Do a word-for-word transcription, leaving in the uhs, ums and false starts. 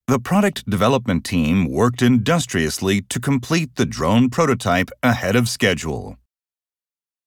The product development team worked industriously to complete the drone prototype ahead of schedule.